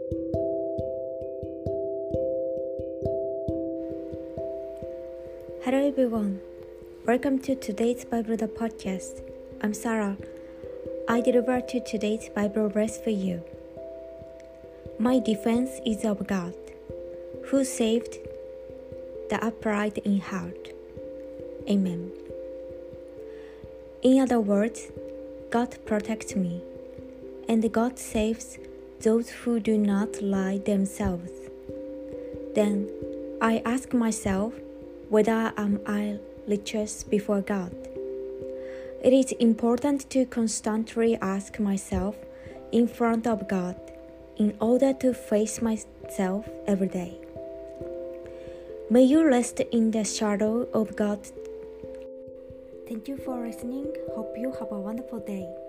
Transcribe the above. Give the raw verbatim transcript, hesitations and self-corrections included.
Hello everyone, welcome to today's Bible the podcast. I'm Sarah. I deliver to today's Bible verse for you. My defense is of God, who saved the upright in heart. Amen. In other words, God protects me, and God saves those who do not lie themselves. Then I ask myself, whether am I righteous before God? It is important to constantly ask myself in front of God in order to face myself every day. May you rest in the shadow of God. Thank you for listening. Hope you have a wonderful day.